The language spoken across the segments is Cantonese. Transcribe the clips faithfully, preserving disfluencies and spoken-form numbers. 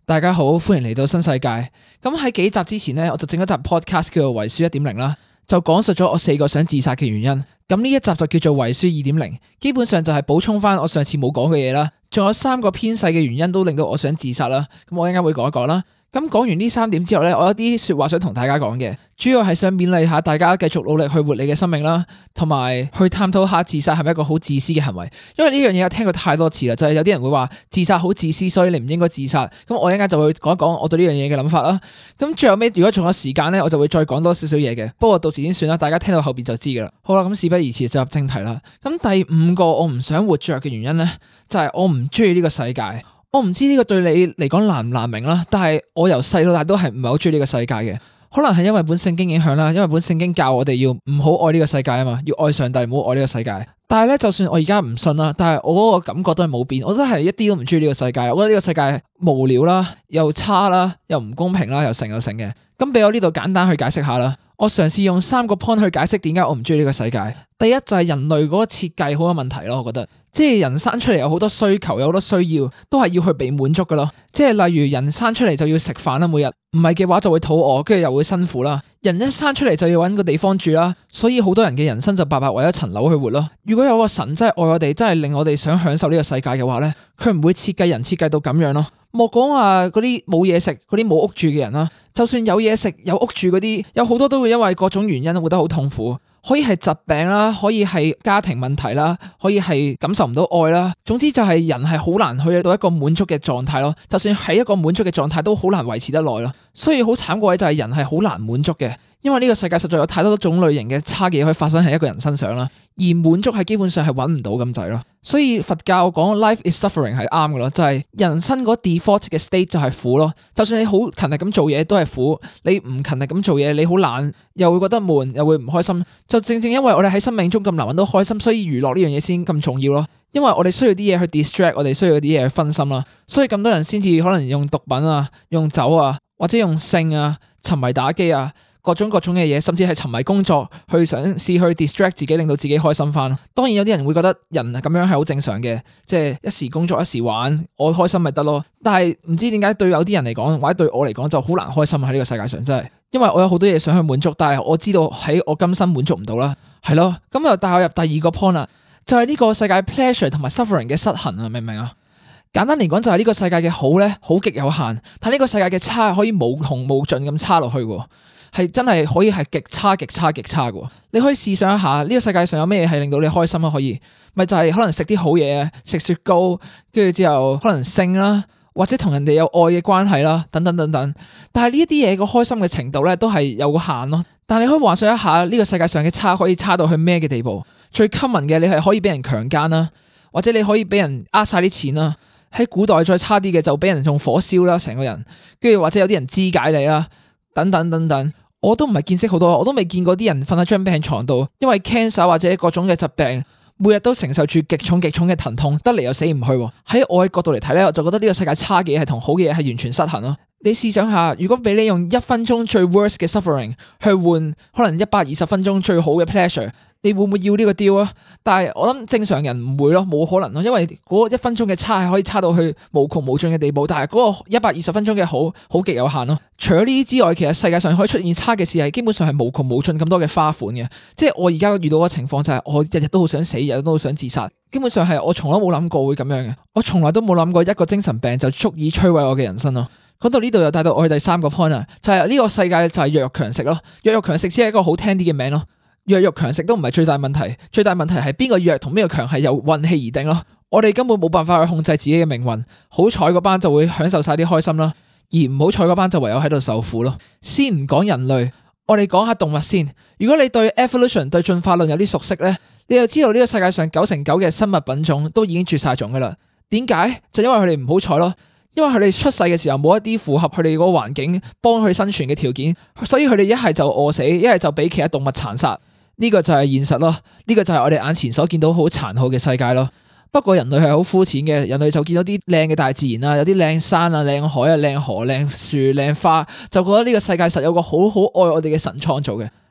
大家好，歡迎嚟到新世界。咁喺幾集之前呢，我就整一集 podcast 叫做遺書一點零啦，就講述咗我四個想自殺嘅原因。咁呢一集就叫做遺書二點零，基本上就係補充翻我上次冇講嘅嘢啦。仲有三個偏細嘅原因都令到我想自殺啦。咁我一陣間會講一講啦。咁講完呢三點之後呢，我有啲說話想同大家講嘅，主要係想勉勵下大家繼續努力去活你嘅生命啦，同埋去探討下自殺係咪一個好自私嘅行為。因為呢樣嘢我聽過太多次啦，就係有啲人會話自殺好自私，所以你唔應該自殺。咁我一陣間就會講一講我對呢樣嘢嘅諗法啦。咁最後尾如果仲有時間呢，我就會再講多少少嘢嘅。不過到時先算啦，大家聽到後邊就知噶啦。好啦，咁事不宜遲，就入正題啦。咁第五個我唔想活着嘅原因呢，就係我唔中意呢個世界。我唔知呢個對你嚟講難唔難明啦，但係我由細到大都係唔係好中意呢個世界嘅。可能係因為本聖經影響啦，因為本聖經教我哋要唔好愛呢個世界啊嘛，要愛上帝，唔好愛呢個世界。但係咧，就算我而家唔信啦，但係我嗰個感覺都係冇變，我都係一啲都唔中意呢個世界。我覺得呢個世界無聊啦，又差啦，又唔公平啦，又成又成嘅。咁俾我呢度簡單去解釋下啦。我嘗試用三個 point 去解釋點解我唔中意呢個世界。第一就係人類嗰個設計好有問題咯，我覺得。即係人生出嚟有好多需求，有好多需要，都係要去被滿足噶咯。即係例如人生出嚟就要食飯啦，每日唔係嘅話就會肚餓，跟住又會辛苦啦。人一生出嚟就要搵個地方住啦，所以好多人嘅人生就白白為一層樓去活咯。如果有個神真係愛我哋，真係令我哋想享受呢個世界嘅話咧，佢唔會設計人設計到咁樣咯。莫講話嗰啲冇嘢食、嗰啲冇屋住嘅人啦，就算有嘢食、有屋住嗰啲，有好多都會因為各種原因活得好痛苦。可以係疾病啦，可以係家庭問題啦，可以係感受唔到愛啦。總之就係人係好難去到一個滿足嘅狀態咯。就算喺一個滿足嘅狀態，都好難維持得耐咯。所以好慘嘅位就係人係好難滿足嘅，因為呢個世界實在有太多種類型嘅差嘅嘢可以發生喺一個人身上啦。而滿足係基本上係揾唔到咁滯咯。所以佛教講 life is suffering 係啱嘅咯，就係人生嗰 default 嘅 state 就係苦咯。就算你好勤力咁做嘢都係苦，你唔勤力咁做嘢，你好懶又會覺得悶，又會唔開心。就正正因為我哋喺生命中咁難揾到開心，所以娛樂呢樣嘢先咁重要咯。因為我哋需要啲嘢去 distract， 我哋需要啲嘢去分心啦。所以咁多人先至可能用毒品啊、用酒啊，或者用性啊、沉迷打機啊。各種各種嘅嘢，甚至係沉迷工作，去嘗試去 distract 自己，令到自己開心翻。當然有啲人會覺得人咁樣係好正常嘅，即係一時工作一時玩，我開心咪得咯。但係唔知點解對有啲人嚟講，或者對我嚟講就好難開心喺呢個世界上，真係。因為我有好多嘢想去滿足，但係我知道喺我今生滿足唔到啦，係咯。咁又帶我入第二個 point 啦，就係呢個世界 pleasure 同埋 suffering 嘅失衡啊，明唔明啊？簡單嚟講就係呢個世界嘅好咧，好極有限，但呢個世界嘅差可以無窮無盡咁差落去喎。係真係可以係極差極差極差嘅。你可以試想一下，呢個世界上有咩嘢係令到你開心啊？可以咪就係可能食啲好嘢，食雪糕，跟住之後可能性啦，或者同人哋有愛嘅關係啦，等等等等。但係呢一啲嘢個開心嘅程度咧，都係有個限咯。但係你可以幻想一下，呢個世界上嘅差可以差到去咩嘅地步？最 common 嘅，你係可以俾人強姦啦，或者你可以俾人呃晒啲錢啦。喺古代再差啲嘅就俾人用火燒啦，成個人，跟住或者有啲人肢解你啦，等等等等。我都唔係見識好多，我都未見過啲人瞓喺張病床度，因為 cancer 或者各種嘅疾病，每日都承受住極重極重嘅疼痛，得嚟又死唔去。喺我嘅角度嚟睇咧，我就覺得呢個世界差嘅嘢係同好嘅嘢係完全失衡咯。你試想下，如果俾你用一分鐘最 worst 嘅 suffering 去換可能一百二十分鐘最好嘅 pleasure，你會唔會要呢個 deal 啊？但係我諗正常人唔會咯，冇可能咯，因為嗰一分鐘嘅差係可以差到去無窮無盡嘅地步，但係嗰個一百二十分鐘嘅好好極有限咯。除咗呢啲之外，其實世界上可以出現差嘅事係基本上係無窮無盡咁多嘅花款嘅。即係我而家遇到嘅情況就係我日日都好想死，日日都好想自殺。基本上係我從來冇諗過會咁樣嘅，我從來都冇諗過一個精神病就足以摧毀我嘅人生咯。講到呢度又帶到我去第三個 point 啊，就係呢個世界就係弱肉強食咯。弱肉強食只係一個好聽啲嘅名咯。弱肉強食都唔係最大問題，最大問題係邊個弱同邊個強係由運氣而定咯。我哋根本冇辦法去控制自己嘅命運，好彩嗰班就會享受晒啲開心啦，而唔好彩嗰班就唯有喺度受苦咯。先唔講人類，我哋講下動物先。如果你對 evolution 對進化論有啲熟悉咧，你就知道呢個世界上九成九嘅生物品種都已經絕晒種噶啦。點解？就因為佢哋唔好彩咯。因為佢哋出世嘅時候冇一啲符合佢哋嗰個環境幫佢生存嘅條件，所以佢哋一係就餓死，一係就俾其他動物殘殺。呢個就係現實咯，呢個就係我哋眼前所見到好殘酷嘅世界咯。不過人類係好膚淺嘅，人類就見到啲靚嘅大自然啊，有啲靚山啊、靚海啊、靚河、靚樹、靚花，就覺得呢個世界實有個好好愛我哋嘅神創造嘅。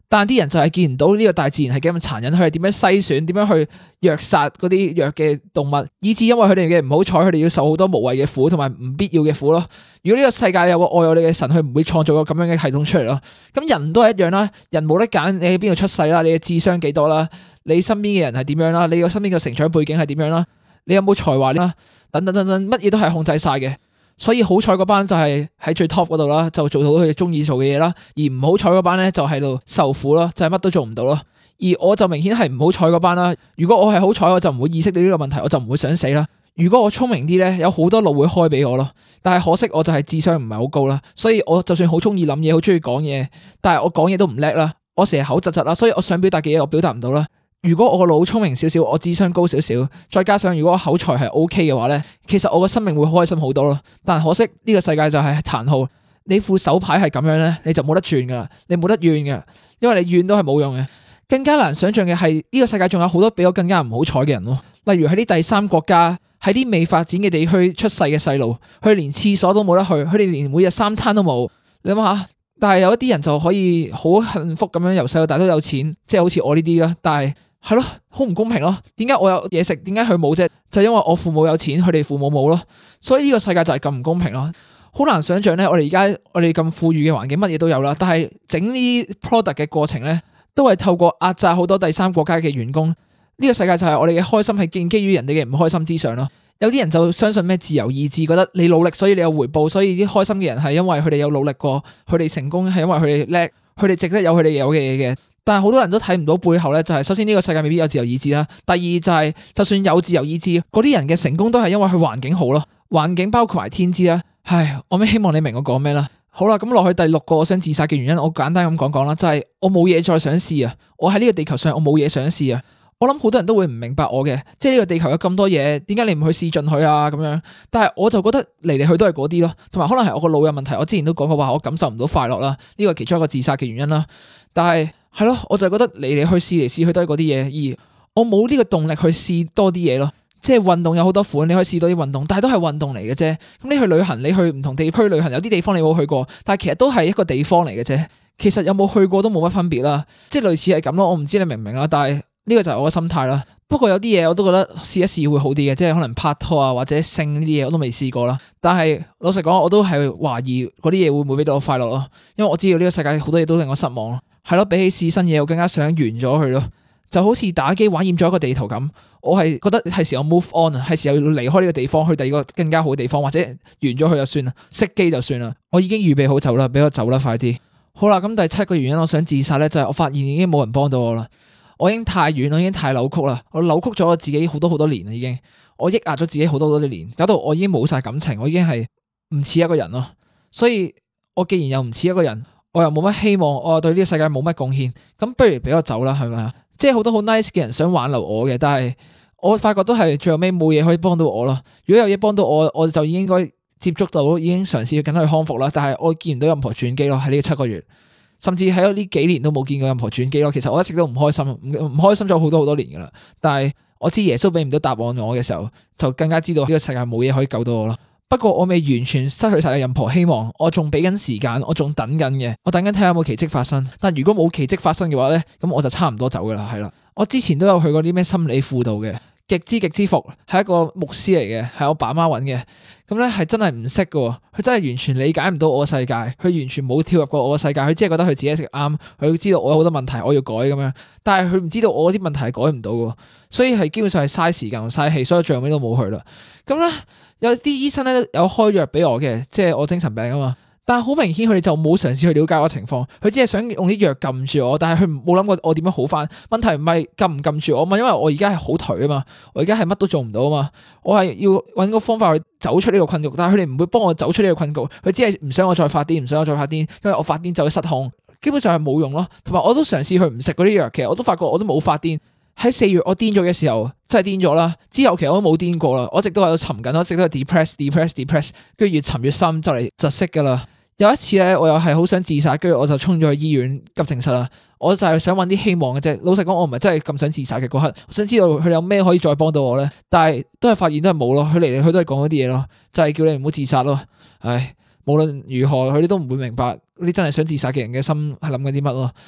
但啲人就係見唔到呢個大自然係幾咁殘忍，佢係點樣篩選，點樣去虐殺嗰啲弱嘅動物，以致因為佢哋嘅唔好彩，佢哋要受好多無謂嘅苦同埋唔必要嘅苦咯。如果呢個世界有個愛我哋嘅神，佢唔會創造個咁樣嘅系統出嚟咯。咁人都係一樣啦，人冇得揀，你喺邊度出世啦，你嘅智商幾多啦，你身邊嘅人係點樣啦，你個身邊嘅成長背景係點樣啦，你有冇才華啦，等等等等，乜嘢都係控制晒嘅。所以好彩嗰班就係喺最 top 嗰度啦，就做到佢哋中意做嘅嘢啦。而唔好彩嗰班咧就喺度受苦咯，就係乜都做唔到咯。而我就明顯係唔好彩嗰班啦。如果我係好彩，我就唔會意識到呢個問題，我就唔會想死啦。如果我聰明啲咧，有好多路會開俾我咯。但係可惜我就係智商唔係好高啦，所以我就算好中意諗嘢，好中意講嘢，但係我講嘢都唔叻啦。我成日口窒窒啦，所以我想表達嘅嘢我表達唔到啦。如果我個腦聰明少少，我智商高少少，再加上如果我口才係 O K 嘅話咧，其實我個生命會開心好多咯。但可惜呢個世界就係殘酷，你副手牌係咁樣咧，你就冇得轉噶啦，你冇得怨噶，因為你怨都係冇用嘅。更加難想象嘅係呢個世界仲有好多比我更加唔好彩嘅人咯。例如喺啲第三國家，喺啲未發展嘅地區出世嘅細路，佢哋連廁所都冇得去，佢哋連每日三餐都冇。你諗下，但係有一啲人就可以好幸福咁樣由細到大都有錢，即係好似我呢啲啦。但係係咯，好唔公平咯。點解我有嘢食，點解佢冇啫？就因為我父母有錢，佢哋父母冇咯。所以呢個世界就係咁唔公平咯。好難想象咧，我哋而家我哋咁富裕嘅環境，乜嘢都有啦。但係整呢啲 product 嘅過程咧，都係透過壓榨好多第三國家嘅員工。呢個世界就係我哋嘅開心係建基於人哋嘅唔開心之上咯。有啲人就相信咩自由意志，覺得你努力所以你有回報，所以啲開心嘅人係因為佢哋有努力過，佢哋成功係因為佢哋叻，佢哋值得有佢哋有嘅嘢嘅。但係好多人都睇唔到背後咧，就係首先呢個世界未必有自由意志啦。第二就係就算有自由意志，嗰啲人嘅成功都係因為佢環境好咯。環境包括埋天資啦。唉，我咩希望你明我講咩啦。好啦，咁落去第六個我想自殺嘅原因，我簡單咁講講啦，就係我冇嘢再想試啊。我喺呢個地球上，我冇嘢想試啊。我諗好多人都會唔明白我嘅，即係呢個地球有咁多嘢，點解你唔去試盡佢啊？咁樣，但係我就覺得嚟嚟去都係嗰啲咯，同埋可能係我個腦有問題。我之前都講過話，我感受唔到快樂啦，呢個係其中一個自殺嘅原因啦。但係係咯，我就覺得嚟嚟去試嚟試去都係嗰啲嘢，而我冇呢個動力去試多啲嘢咯。即係運動有好多款，你可以試多啲運動，但係都係運動嚟嘅啫。咁你去旅行，你去唔同地區旅行，有啲地方你冇去過，但係其實都係一個地方嚟嘅啫。其實有冇去過都冇乜分別啦，即係類似係咁咯。我唔知你明唔明啦，但係呢個就係我嘅心態啦。不過有啲嘢我都覺得試一試會好啲嘅，即係可能拍拖啊或者性呢啲嘢我都未試過啦。但係老實講，我都係懷疑嗰啲嘢會唔會俾到我快樂咯，因為我知道呢個世界好多嘢都令我失望咯。係咯，比起試新嘢，我更加想完咗佢咯。就好似打機玩厭咗一個地圖咁，我係覺得係時候 move on 啊，係時候要離開呢個地方去第二個更加好嘅地方，或者完咗佢就算啦，熄機就算啦。我已經預備好走啦，俾我走啦，快啲。好啦，咁第七個原因我想自殺咧，就係我發現已經冇人幫到我啦。我已經太遠，我已經太扭曲啦，我扭曲咗我自己好多好多年啦，已經我抑壓咗自己好多好多年，搞到我已經冇晒感情，我已經係唔似一個人咯。所以我既然又唔似一個人，我又冇乜希望，我又對呢個世界冇乜貢獻，咁不如俾我走啦，係咪啊？即係好多好 nice 嘅人想挽留我嘅，但係我發覺都係最後尾冇嘢可以幫到我咯。如果有嘢幫到我，我就已經應該接觸到，已經嘗試去緊去康復啦。但係我見唔到任何轉機咯，喺呢七個月，甚至喺呢幾年都冇見過任何轉機咯。其實我一直都唔開心，唔唔開心咗好多好多年噶啦。但係我知耶穌俾唔到答案我嘅時候，就更加知道呢個世界冇嘢可以救到我咯。不過我未完全失去晒任何希望，我仲俾緊時間，我仲等緊嘅，我等緊睇下有冇奇蹟發生。但如果冇奇蹟發生嘅話咧，咁我就差唔多走噶啦，係啦。我之前都有去過啲咩心理輔導嘅，極之極之服，係一個牧師嚟嘅，係我爸媽揾嘅。咁咧係真係唔識嘅，佢真係完全理解唔到我嘅世界，佢完全冇跳入過我嘅世界，佢只係覺得佢自己食啱，佢知道我有好多問題我要改咁樣，但係佢唔知道我啲問題係改唔到嘅，所以係基本上係嘥時間同嘥氣，所以最後尾都冇去啦。咁咧有啲醫生咧有開藥俾我嘅，即係我精神病啊嘛。但係好明顯佢哋就冇嘗試去了解我情況，佢只係想用啲藥撳住我，但係佢冇諗過我點樣好翻。問題唔係撳唔撳住我嘛，因為我而家係好頹啊嘛，我而家係乜都做唔到啊嘛，我係要揾個方法去走出呢個困局，但係佢哋唔會幫我走出呢個困局，佢只係唔想我再發癲，唔想我再發癲，因為我發癲就會失控，基本上係冇用咯。同埋我都嘗試去唔食嗰啲藥，其實我都發覺我都冇發癲。喺四月我癲咗嘅時候真係癲咗啦，之後其實我都冇癲過啦，我一直都喺度沉緊，我一直都係 depress depress depress， 跟住越沉越深就嚟窒息噶啦。有一次咧，我又係好想自殺，跟住我就衝咗去醫院急症室啦。我就係想揾啲希望嘅啫。老實講，我唔係真係咁想自殺嘅嗰刻，我想知道佢哋有咩可以再幫到我咧。但係都係發現都係冇咯，佢嚟嚟去都係講嗰啲嘢咯，就係叫你唔好自殺咯。唉，無論如何，佢哋都唔會明白你真係想自殺嘅人嘅心係諗緊啲乜咯。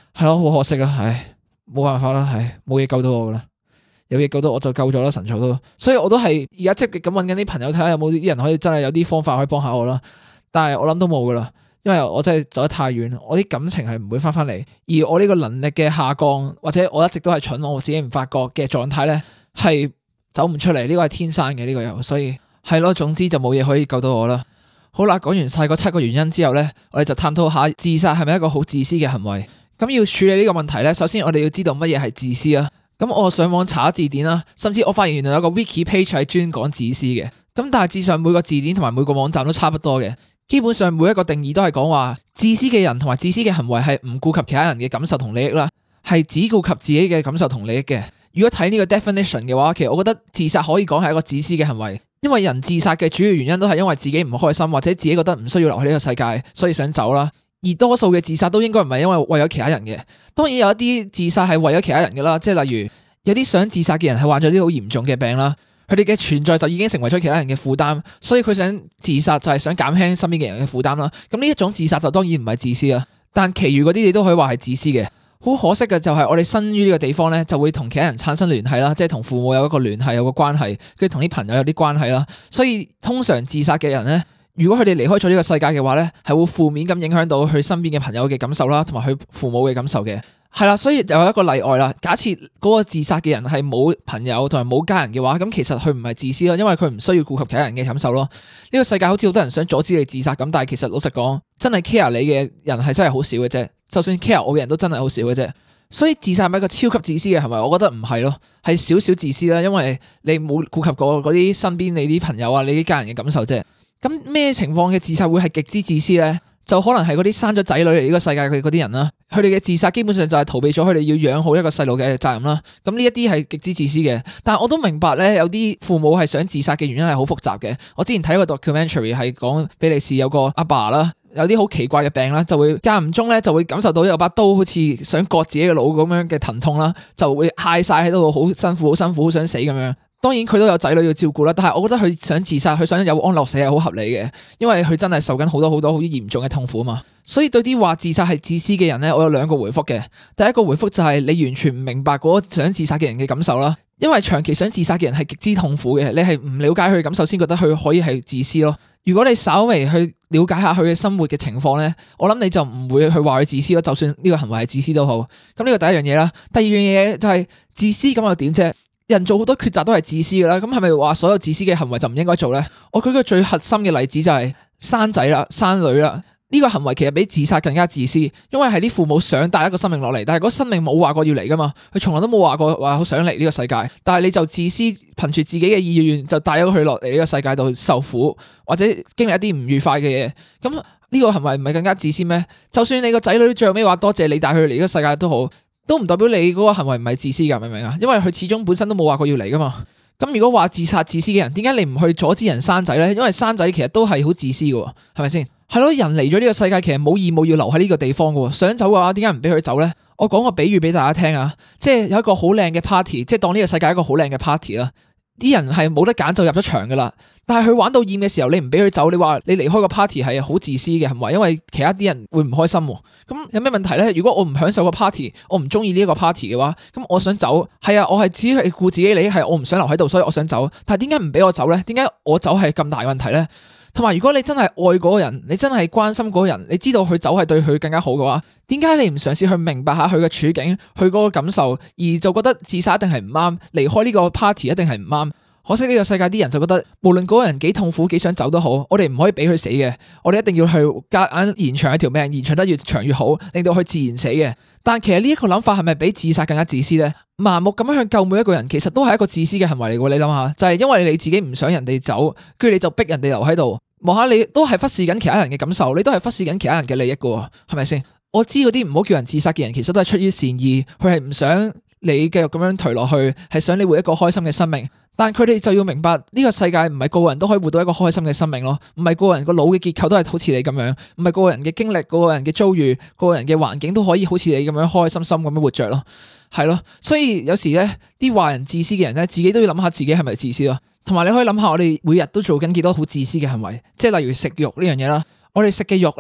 係咯，好可惜啊，唉，冇辦法啦，唉，冇嘢救到我噶啦，有嘢救到我就救咗啦，神草都，所以我都係而家積極咁揾緊啲朋友睇下有冇啲人可以真係有啲方法可以幫下我啦，但係我諗都冇噶啦。因為我真係走得太遠，我啲感情係唔會翻翻嚟，而我呢個能力嘅下降，或者我一直都係蠢，我自己唔發覺嘅狀態咧，係走唔出嚟，呢個係天生嘅呢個又，所以係咯，總之就冇嘢可以救到我啦。好啦，講完晒嗰七個原因之後咧，我哋就探討下自殺係咪一個好自私嘅行為。咁要處理呢個問題咧，首先我哋要知道乜嘢係自私啊。咁我上網查字典啦，甚至我發現原來有個 wiki page 係專講自私嘅。咁大致上每個字典同埋每個網站都差不多嘅。基本上每一個定義都係講話自私嘅人同埋自私嘅行為係唔顧及其他人嘅感受同利益啦，係只顧及自己嘅感受同利益嘅。如果睇呢個 definition 嘅話，其實我覺得自殺可以講係一個自私嘅行為，因為人自殺嘅主要原因都係因為自己唔開心或者自己覺得唔需要留喺呢個世界，所以想走啦。而多數嘅自殺都應該唔係因為為咗其他人嘅，當然有一啲自殺係為咗其他人嘅啦，即係例如有啲想自殺嘅人係患咗啲好嚴重嘅病啦。佢哋嘅存在就已經成為咗其他人嘅負擔，所以佢想自殺就係想減輕身邊嘅人嘅負擔啦。咁呢一種自殺就當然唔係自私啦，但其餘嗰啲你都可以話係自私嘅。好可惜嘅就係我哋生於呢個地方咧，就會同其他人產生聯繫啦，即係同父母有一個聯繫，有個關係，跟住同啲朋友有啲關係啦。所以通常自殺嘅人咧，如果佢哋離開咗呢個世界嘅話咧，係會負面咁影響到佢身邊嘅朋友嘅感受啦，同埋佢父母嘅感受嘅。係啦，所以就有一個例外啦。假設嗰個自殺嘅人係冇朋友同埋冇家人嘅話，咁其實佢唔係自私咯，因為佢唔需要顧及其他人嘅感受咯。呢個世界好似好多人想阻止你自殺咁，但係其實老實講，真係 care 你嘅人係真係好少嘅啫。就算 care 我嘅人都真係好少嘅啫。所以自殺係咪一個超級自私嘅行為？我覺得唔係咯，係少少自私啦，因為你冇顧及過嗰啲身邊你啲朋友啊、你啲家人嘅感受啫。咁咩情況嘅自殺會係極之自私咧？就可能係嗰啲生咗仔女嚟呢個世界嘅嗰啲人啦，佢哋嘅自殺基本上就係逃避咗佢哋要養好一個細路嘅責任啦。咁呢一啲係極之自私嘅，但係我都明白咧，有啲父母係想自殺嘅原因係好複雜嘅。我之前睇一個 documentary 係講比利時有個阿爸啦，有啲好奇怪嘅病啦，就會間唔中咧就會感受到有把刀好似想割自己嘅腦咁樣嘅疼痛啦，就會嗌晒喺度，好辛苦，好辛苦，好想死咁樣。當然佢都有仔女要照顧啦，但係我覺得佢想自殺，佢想有安樂死係好合理嘅，因為佢真係受緊好多好多好嚴重嘅痛苦嘛。所以對啲話自殺係自私嘅人咧，我有兩個回覆嘅。第一個回覆就係你完全唔明白嗰個想自殺嘅人嘅感受啦，因為長期想自殺嘅人係極之痛苦嘅，你係唔了解佢嘅感受先覺得佢可以係自私咯。如果你稍微去了解下佢嘅生活嘅情況咧，我諗你就唔會去話佢自私咯，就算呢個行為係自私都好。咁呢個第一樣嘢啦，第二樣嘢就係自私咁又點啫？人做好多抉擇都係自私噶啦，咁係咪話所有自私嘅行為就唔應該做咧？我舉個最核心嘅例子就係生仔啦、生女啦，呢個行為其實比自殺更加自私，因為係啲父母想帶一個生命落嚟，但係嗰生命冇話過要嚟噶嘛，佢從來都冇話過話好想嚟呢個世界，但係你就自私，憑住自己嘅意願就帶咗佢落嚟呢個世界度受苦，或者經歷一啲唔愉快嘅嘢，咁呢個行為唔係更加自私咩？就算你個仔女最後尾話多謝你帶佢嚟呢個世界都好，都唔代表你嗰個行為唔係自私噶，明唔明啊？因為佢始終本身都冇話過要嚟噶嘛。咁如果話自殺自私嘅人，點解你唔去阻止人生仔咧？因為生仔其實都係好自私噶，係咪先？係咯，人嚟咗呢個世界，其實冇義務要留喺呢個地方噶。想走嘅話，點解唔俾佢走咧？我講個比喻俾大家聽啊，即係有一個好靚嘅 party，即係當呢個世界係一個好靚嘅 party 啦。啲人係冇得揀就入咗場噶啦，但係佢玩到厭嘅時候，你唔俾佢走，你話你離開個 party 係好自私嘅行為，因為其他啲人會唔開心。咁有咩問題咧？如果我唔享受個 party，我唔中意呢一個 party 嘅話，咁我想走，係啊，我係只係顧自己利益，係我唔想留喺度，所以我想走。但係點解唔俾我走咧？點解我走係咁大問題咧？同埋如果你真係愛嗰個人，你真係關心嗰個人，你知道佢走係對佢更加好嘅話，點解你唔嘗試去明白下佢嘅處境，佢嗰個感受，而就覺得自殺一定係唔啱，離開呢個 party 一定係唔啱？可惜呢個世界啲人就覺得，無論嗰個人幾痛苦幾想走都好，我哋唔可以俾佢死嘅，我哋一定要去夾硬延長一條命，延長得越長越好，令到佢自然死嘅。但其實呢一個諗法係咪比自殺更加自私咧？盲目咁樣去救每一個人，其實都係一個自私嘅行為嚟嘅。你諗下，就係因為你自己唔想人哋走，跟住你就逼人哋留喺度，望下你都係忽視緊其他人嘅感受，你都係忽視緊其他人嘅利益嘅，係咪先？我知嗰啲唔好叫人自殺嘅人，其實都係出於善意，佢係唔想你繼續咁樣頹落去，係想你活一個開心嘅生命。但佢哋就要明白呢個世界唔係個個人都可以活到一個開心嘅生命咯，唔係個個人個腦嘅結構都係好似你咁樣，唔係個個人嘅經歷、個個人嘅遭遇、個個人嘅環境都可以好似你咁樣開開心心咁樣活着咯，係咯。所以有時咧，啲話人自私嘅人咧，自己都要諗下自己係咪自私咯。同埋你可以諗下，我哋每日都做緊幾多好自私嘅行為，即係例如食肉呢樣嘢啦。我哋食嘅肉咧，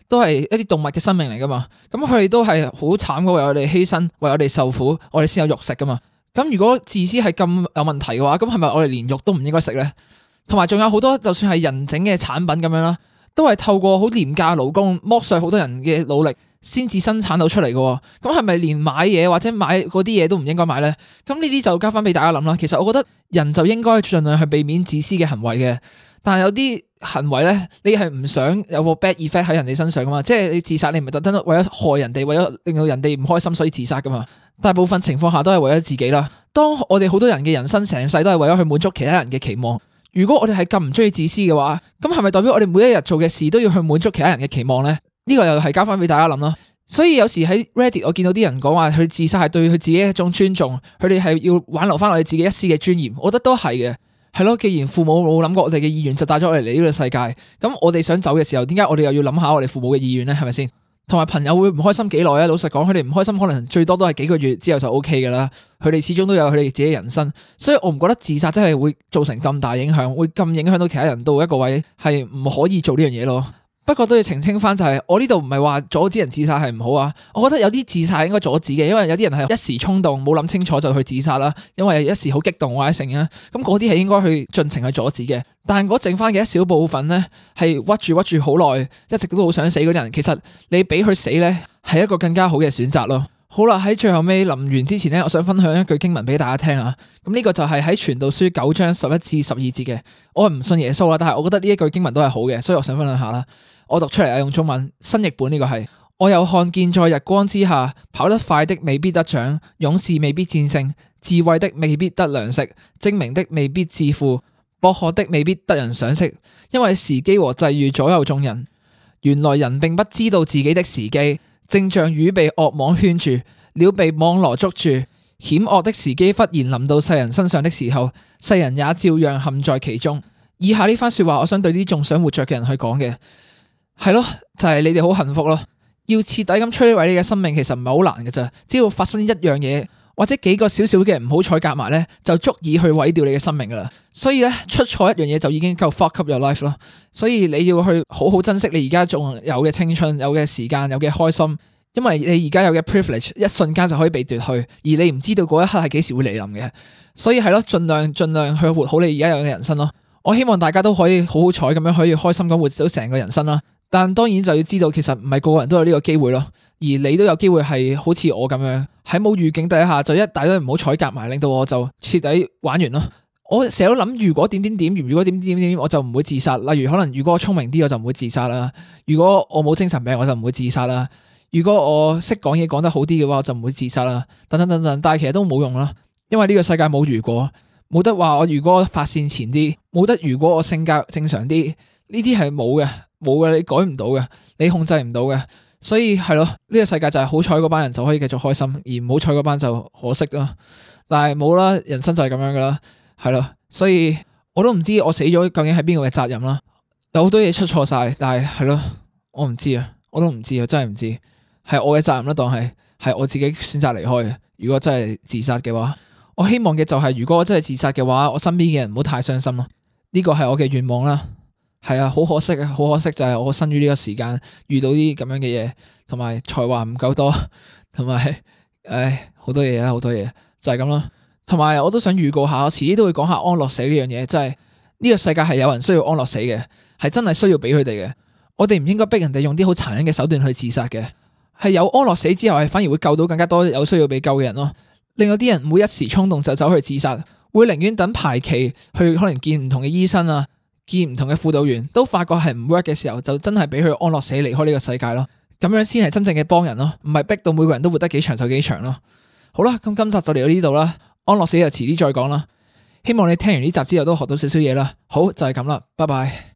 都係一啲動物嘅生命嚟噶嘛，咁佢哋都係好慘嘅，為我哋犧牲，為我哋受苦，我哋先有肉食噶嘛。咁如果自私係咁有問題嘅話，咁係咪我哋連肉都唔應該食咧？同埋仲有好多就算係人整嘅產品咁樣啦，都係透過好廉價勞工剝削好多人嘅努力先至生產到出嚟嘅。咁係咪連買嘢或者買嗰啲嘢都唔應該買咧？咁呢啲就交翻俾大家諗啦。其實我覺得人就應該盡量去避免自私嘅行為嘅，但係有啲行為咧，你係唔想有個 bad effect 喺人哋身上噶嘛？即係你自殺，你唔係特登為咗害人哋，為咗令到人哋唔開心所以自殺噶嘛？大部分情況下都係為咗自己啦。當我哋好多人嘅人生成世都係為咗去滿足其他人嘅期望，如果我哋係咁唔中意自私嘅話，咁係咪代表我哋每一日做嘅事都要去滿足其他人嘅期望咧？呢個又係交翻俾大家諗啦。所以有時喺 Reddit 我見到啲人講話佢自殺係對佢自己一種尊重，佢哋係要挽留翻我哋自己一絲嘅尊嚴，我覺得都係嘅。係咯，既然父母冇諗過我哋嘅意願就帶咗我哋嚟呢個世界，咁我哋想走嘅時候，點解我哋又要諗下我哋父母嘅意願咧？係咪先？同埋朋友會唔開心幾耐啊？老實講，佢哋唔開心可能最多都係幾個月之後就 OK 噶啦。佢哋始終都有佢哋自己人生，所以我唔覺得自殺真係會造成咁大影響，會咁影響到其他人到一個位係唔可以做呢樣嘢咯。不過都要澄清翻就係、是，我呢度唔係話阻止人自殺係唔好啊。我覺得有啲自殺係應該阻止嘅，因為有啲人係一時衝動冇諗清楚就去自殺啦，因為一時好激動或者成啊。咁嗰啲係應該去盡情去阻止嘅。但係嗰剩翻嘅一小部分咧，係屈住屈住好耐，一直都好想死嗰啲人，其實你俾佢死咧係一個更加好嘅選擇咯。好啦，喺最後尾臨完之前咧，我想分享一句經文俾大家聽啊。咁呢個就係喺傳道書九章十一至十二節嘅。我係唔信耶穌啦，但係我覺得呢一句經文都係好嘅，所以我想分享下啦。我讀出嚟啊，用中文新譯本呢個係。我又看見在日光之下，跑得快的未必得獎，勇士未必戰勝，智慧的未必得糧食，精明的未必致富，博學的未必得人賞識，因為時機和際遇左右眾人。原來人並不知道自己的時機，正像魚被惡網圈住，鳥被網羅捉住，險惡的時機忽然臨到世人身上的時候，世人也照樣陷在其中。以下呢番說話，我想對啲仲想活着嘅人去講嘅。係咯，就係、是、你哋好幸福咯。要徹底咁摧毀你嘅生命，其實唔係好難嘅咋。只要發生一樣嘢，或者幾個小小嘅唔好彩夾埋咧，就足以去毀掉你嘅生命噶啦。所以咧，出錯一樣嘢就已經夠 fuck up your life 咯。所以你要去好好珍惜你而家仲有嘅青春、有嘅時間、有嘅開心，因為你而家有嘅 privilege 一瞬間就可以被奪去，而你唔知道嗰一刻係幾時會嚟臨嘅。所以係咯，盡量盡量去活好你而家有嘅人生咯。我希望大家都可以好好彩咁樣可以開心咁活到成個人生啦。但當然就要知道，其實唔係個個人都有呢個機會咯，而你都有機會係好似我咁樣喺冇預警底下就一大堆唔好彩夾埋，令到我就徹底玩完咯。我成日都諗，如果點點點，如果點點點，我就唔會自殺。例如可能如果我聰明啲，我就唔會自殺啦；如果我冇精神病，我就唔會自殺啦；如果我識講嘢講得好啲嘅話，我就唔會自殺啦。等等等等，但係其實都冇用啦，因為呢個世界冇如果，冇得話我如果我發線前啲，冇得如果我性格正常啲，呢啲係冇嘅。冇嘅，你改唔到嘅，你控制唔到嘅，所以係咯，呢個世界就係好彩嗰班人就可以繼續開心，而唔好彩嗰班就可惜啦。但係冇啦，人生就係咁樣噶啦，係咯，所以我都唔知我死咗究竟係邊個嘅責任啦。有好多嘢出錯晒，但係係咯，我唔知啊，我都唔知啊，真係唔知，係我嘅責任啦，當係係我自己選擇離開嘅。如果真係自殺嘅話，我希望嘅就係如果我真係自殺嘅話，我身邊嘅人唔好太傷心咯。呢個係我嘅願望啦。係啊，好可惜啊，好可惜就係我生於呢個時間遇到啲咁樣嘅嘢，同埋才華唔夠多，同埋唉好多嘢啊，好多嘢就係咁咯。同埋我都想預告下，我遲啲都會講下安樂死呢樣嘢，即係呢個世界係有人需要安樂死嘅，係真係需要俾佢哋嘅。我哋唔應該逼人哋用啲好殘忍嘅手段去自殺嘅，係有安樂死之後係反而會救到更加多有需要被救嘅人咯。令到啲人唔會一時衝動就走去自殺，會寧願等排期去可能見唔同嘅醫生啊。見唔同嘅輔導員都發覺係唔 work 嘅時候，就真係俾佢安樂死離開呢個世界咯。咁樣先係真正嘅幫人咯，唔係逼到每個人都活得幾長壽幾長咯。好啦，咁今集就嚟到呢度啦，安樂死就遲啲再講啦。希望你聽完呢集之後都學到少少嘢啦。好，就係咁啦，拜拜。